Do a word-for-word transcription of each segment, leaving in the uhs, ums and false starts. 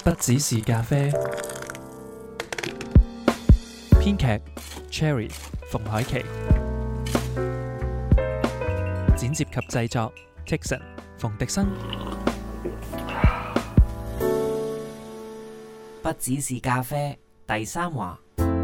不只是咖啡。編劇 Cherry 馮海琪，剪接及製作 Tikson 馮迪生。 不只是咖啡第三話。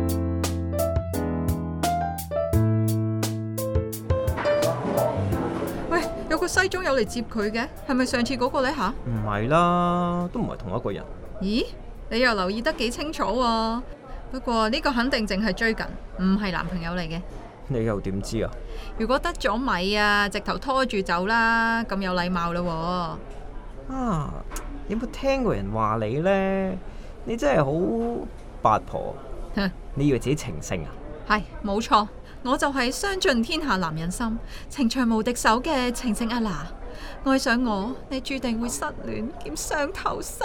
喂，有個西裝友嚟接佢嘅，係咪上次嗰個呢吓？ 唔係啦，都唔係同一個人。 咦，你又留意得幾清楚喎？不過呢個肯定淨係追緊，唔係男朋友嚟嘅。 你又點知啊？ 如果得咗米啊，直頭拖住走啦，咁有禮貌啦喎。 啊，有冇聽過人話你呢？你真係好八婆。你以為自己情聖啊？ 係，冇錯，我就係傷盡天下男人心，情場無敵手嘅情聖阿娜。愛上我，你注定會失戀兼傷透心。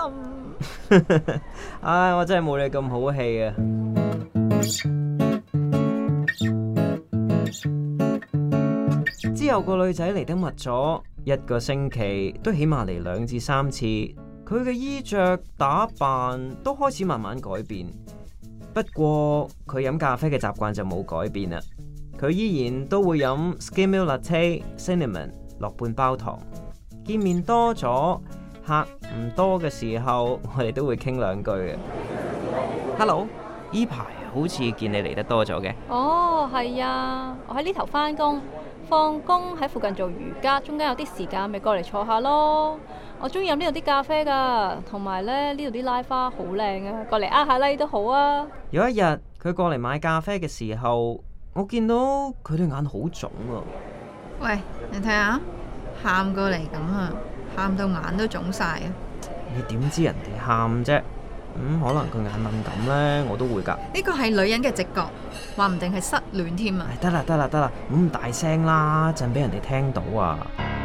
唉，我真係冇你咁好氣啊！之後個女仔嚟得密咗，一個星期都起碼嚟兩至三次。佢嘅衣着打扮都開始慢慢改變，不過佢飲咖啡嘅習慣就冇改變啦。佢依然都會飲 Skim Milk Latte Cinnamon 落半包糖。見面多咗，客唔多嘅時候，我哋都會傾兩句嘅。Hello， 呢排好似見你嚟得多咗嘅。 哦，係啊，我喺呢頭返工，放工喺附近做瑜伽，中間有啲時間咪過嚟坐下咯。我中意飲呢度啲咖啡噶，同埋咧呢度啲拉花好靚啊，過嚟呃下拉都好啊。 有一日佢過嚟買咖啡嘅時候，我見到佢對眼好腫啊。 喂，你睇下，喊過嚟咁啊，喊到眼都腫晒啊！ 你點知人哋喊啫？咁可能佢眼敏感呢，我都會㗎。 呢個係女人嘅直覺，話唔定係失戀添啊！ 得啦得啦得啦，唔好咁大聲啦，陣俾人哋聽到啊！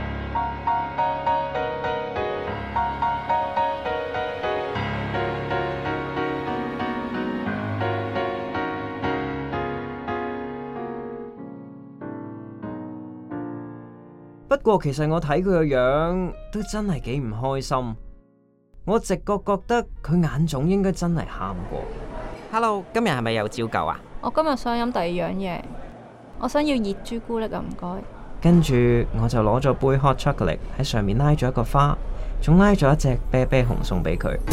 不過其實我睇佢個樣都真係幾唔開心，我直覺覺得佢眼腫應該真係喊過。Hello， 今日係咪有照舊啊？ 我今日想飲第二樣嘢，我想要熱朱古力啊，唔該。 跟住我就攞咗杯 hot chocolate 喺上面拉咗一個花，仲拉咗一隻啤啤熊送俾佢。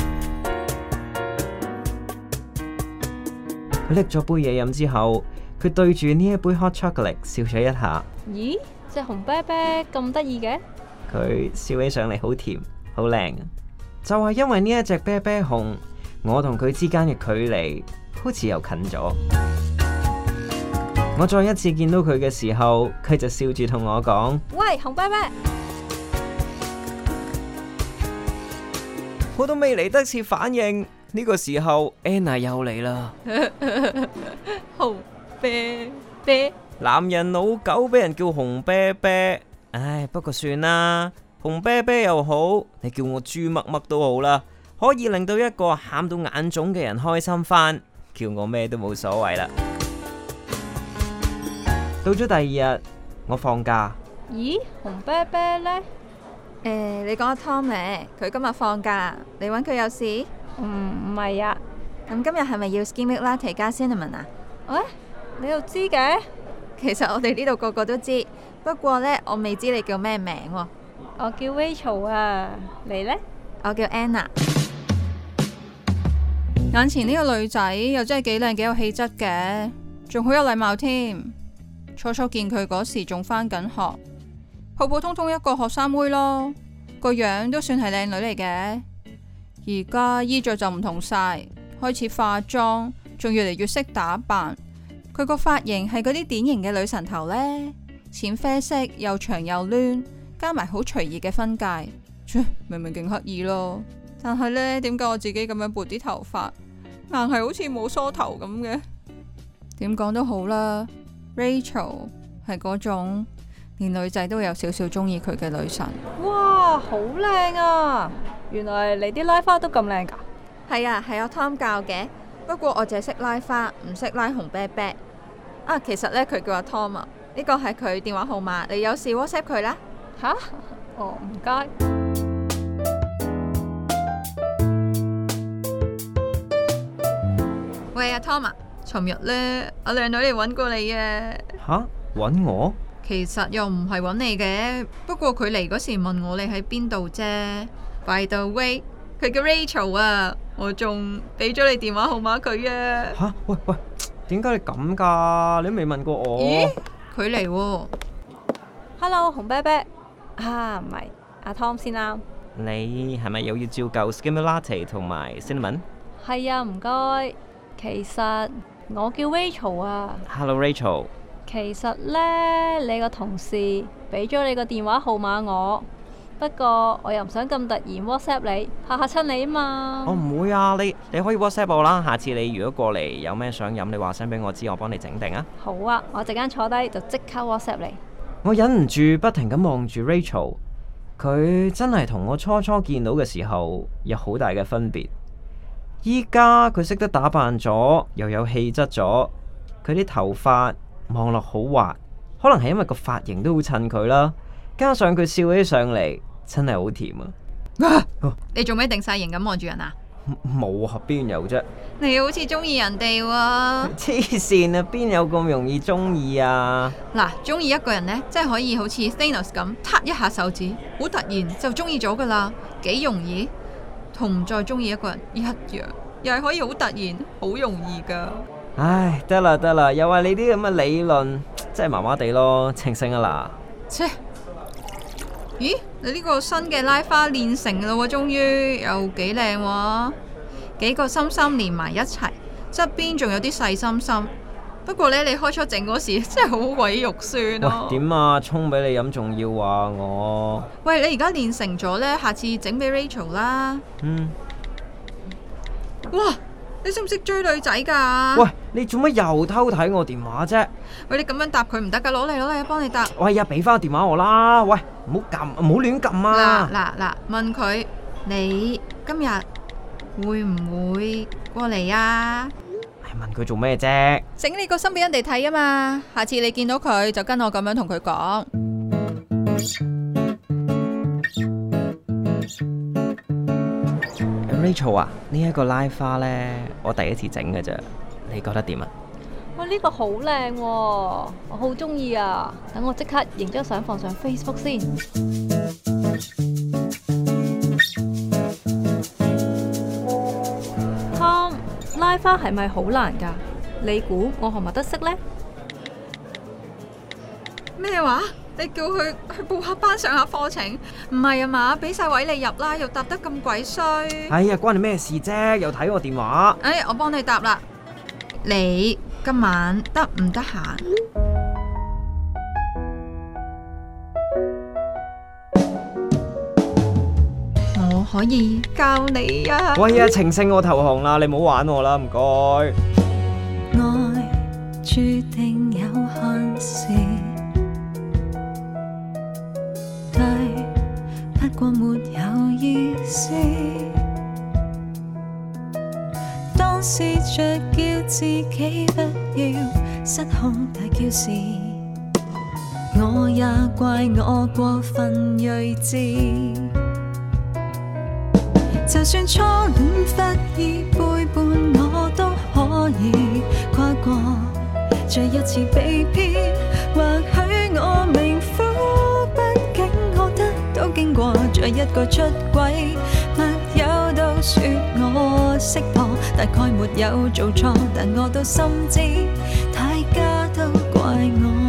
佢拎咗杯嘢飲之後，佢對住呢一杯 hot chocolate 笑咗一下。 咦？隻紅啤啤咁得意嘅？ 佢笑起上嚟好甜，好靚啊！就係因為呢一隻啤啤熊，我同佢之間嘅距離好似又近咗。我再一次見到佢嘅時候，佢就笑住同我講： 喂，紅啤啤！ 我都未嚟得切反應，呢個時候 Anna 又嚟啦。 紅啤啤。 男人老狗俾人叫紅啤啤，唉，不過算啦，紅啤啤又好，你叫我豬乜乜都好啦，可以令到一個喊到眼腫嘅人開心返，叫我咩都冇所謂啦。到咗第二日，我放假。 咦，紅啤啤呢？ 誒，你講阿 Tom 咧，佢今日放假，你搵佢有事？ 唔唔係啊。 咁今日係咪要 Skim Milk Latte 加 Cinnamon 啊？ 喂，你又知嘅？ 其實我哋呢度個個都知，不過呢，我未知你叫咩名喎。 我叫 Rachel 啊，你呢？ 我叫 Anna。眼前呢個女仔又真係幾靚幾有氣質嘅，仲好有禮貌添。初初見佢嗰時仲返緊學，普普通通一個學生妹咯，個樣都算係靚女嚟嘅。而家衣着就唔同晒，開始化妝，仲越嚟越識打扮。佢個髮型係嗰啲典型嘅女神頭呢，淺啡色又長又攣，加埋好隨意嘅分界，明明勁刻意咯。但係呢，點解我自己咁樣撥啲頭髮，硬係好似冇梳頭咁嘅？點講都好啦 ，Rachel 係嗰種連女仔都有少少中意佢嘅女神。 哇，好靚啊！原來你啲拉花都咁靚噶？ 係啊，係阿 Tom 教嘅。不過我淨係識拉花，唔識拉紅啤啤。啊，其實呢，佢叫阿 Tom 啊，呢個係佢電話號碼，你有事 WhatsApp 佢啦。 吓？哦，唔該。 啊 Tom 啊，尋日呢，阿靚女嚟揾過你啊。 吓？揾我？ 其實又唔係揾你嘅，不過佢嚟嗰時問我你喺邊度啫。By the way，佢叫 Rachel 啊，我仲俾咗你電話號碼佢啊。 吓？喂喂，點解你咁噶？你都未問過我。 咦？佢嚟喎。 Hello，紅啤啤啊，唔係阿 Tom 先啦。 你係咪又要照舊 Skim Latte 同埋 Cinnamon？ 係啊，唔該。其實我叫 Rachel 啊。 Hello Rachel。 其實呢，你個同事俾咗你個電話號碼我，不過我又唔想咁突然 WhatsApp 你，怕嚇親你啊嘛。 我唔會啊，你你可以 WhatsApp 我啦。下次你如果過嚟有咩想飲，你話聲俾我知，我幫你整定啊。 好啊，我陣間坐低就即刻 WhatsApp 你。 我忍唔住不停咁望住 Rachel， 佢真係同我初初見到嘅時候有好大嘅分別。依家佢識得打扮咗，又有氣質咗，佢啲頭髮望落好滑，可能係因為個髮型都好襯佢啦，加上佢笑起上嚟真係好甜啊！ 你做咩定晒型咁望住人啊？ 冇啊，邊有啫？ 你好似中意人哋喎。 黐線啊，邊有咁容易中意啊？ 嗱，中意一個人呢，真係可以好似 Thanos 咁，撻一下手指，好突然就中意咗噶啦，幾容易，同唔再中意一個人一樣，又係可以好突然，好容易噶。 唉，得啦得啦，又話你啲咁嘅理論，真係麻麻地咯，清醒啊嗱。 切，咦？你呢個新嘅拉花練成啦喎，終於又幾靚喎，幾個心心連埋一齊，側邊仲有啲細心心。不過呢，你開初整嗰時真係好鬼肉酸咯。 喂，點啊？沖俾你飲仲要話我？ 喂，你而家練成咗呢，下次整俾 Rachel 啦。 嗯。 哇！你識唔識追女仔噶？ 喂，你做乜又偷睇我電話啫？ 喂，你咁樣答佢唔得噶，攞嚟攞嚟，幫你答。 喂呀，俾翻個電話我啦！喂，唔好撳，唔好亂撳啊！ 嗱嗱嗱，問佢你今日會唔會過嚟啊？ 係問佢做咩啫？ 整你個心俾人哋睇啊嘛！下次你見到佢就跟我咁樣同佢講。 Rachel 啊，呢一個拉花呢，我第一次整嘅啫，你覺得點啊？ 哇，呢個好靚喎，我好中意啊！等我即刻影張相放上 Facebook 先。Tom，拉花係咪好難㗎？你估我學唔學得識呢？ 咩話？你叫佢去報下班上下課程？唔係啊嘛，俾晒位你入啦，又答得咁鬼衰。 哎呀，關你咩事啫？又睇我電話。 哎，我幫你答啦。你今晚得唔得閒？我可以教你啊。 喂呀，情聖我投降啦，你唔好玩我啦，唔該。 愛注定有限時，對，不過沒有意思。當試着叫自己不要失控大叫時，我也怪我過分睿智。就算初戀忽已背叛，我都可以跨過再一次被騙。或許我命苦，畢竟我得到經過再一個出軌，密友都說我識破，大概沒有做錯，但我都心知大家都怪我。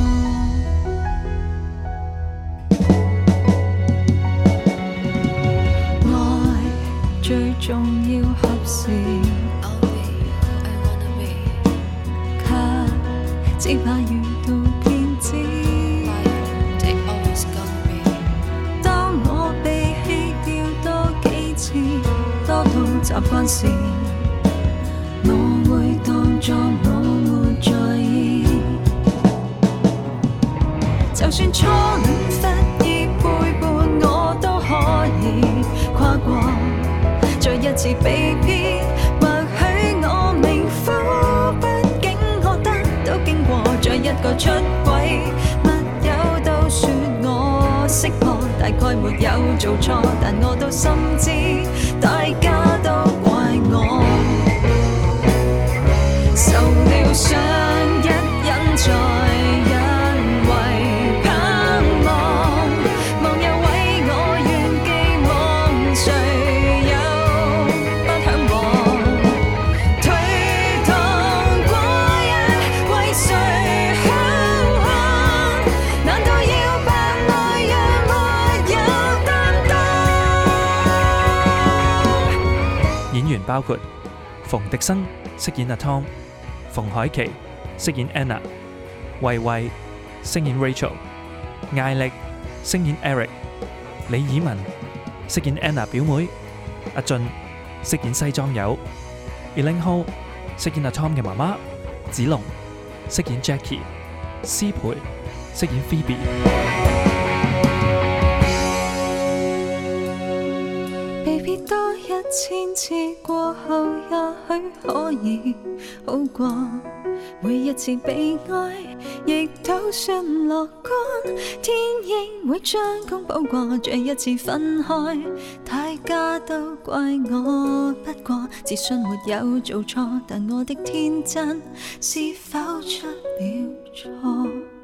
最重要合時，卻只怕遇到騙子。當我被棄掉多幾次，多到習慣時，我會當作我沒在意。就算初戀忽已背叛，我都可以跨過再一次被騙。或許我命苦，畢竟我得到經過再一個出軌，密友都說我識破，大概沒有做錯，但我都心知大家都怪我。 想一忍再一為盼望，忘又毀我願寄望，誰又不向往？推搪過日為誰向往？難道要扮愛讓沒有擔當？ 演員包括馮迪生飾演阿 Tom， 馮海琪飾演 Anna， 慧慧飾演 Rachel， 艾力飾演 Eric， 李以文飾演 Anna 表妹，阿俊飾演西裝友， Elaine Ho 飾演阿 Tom 嘅媽媽，子龍飾演 Jackie， 施培飾演 Phoebe。 被別多一千次過後，也許可以好過。每一次被愛，亦都算樂觀。天應會將功補過，這一次分開，大家都怪我。不過自信沒有做錯，但我的天真是否出了錯？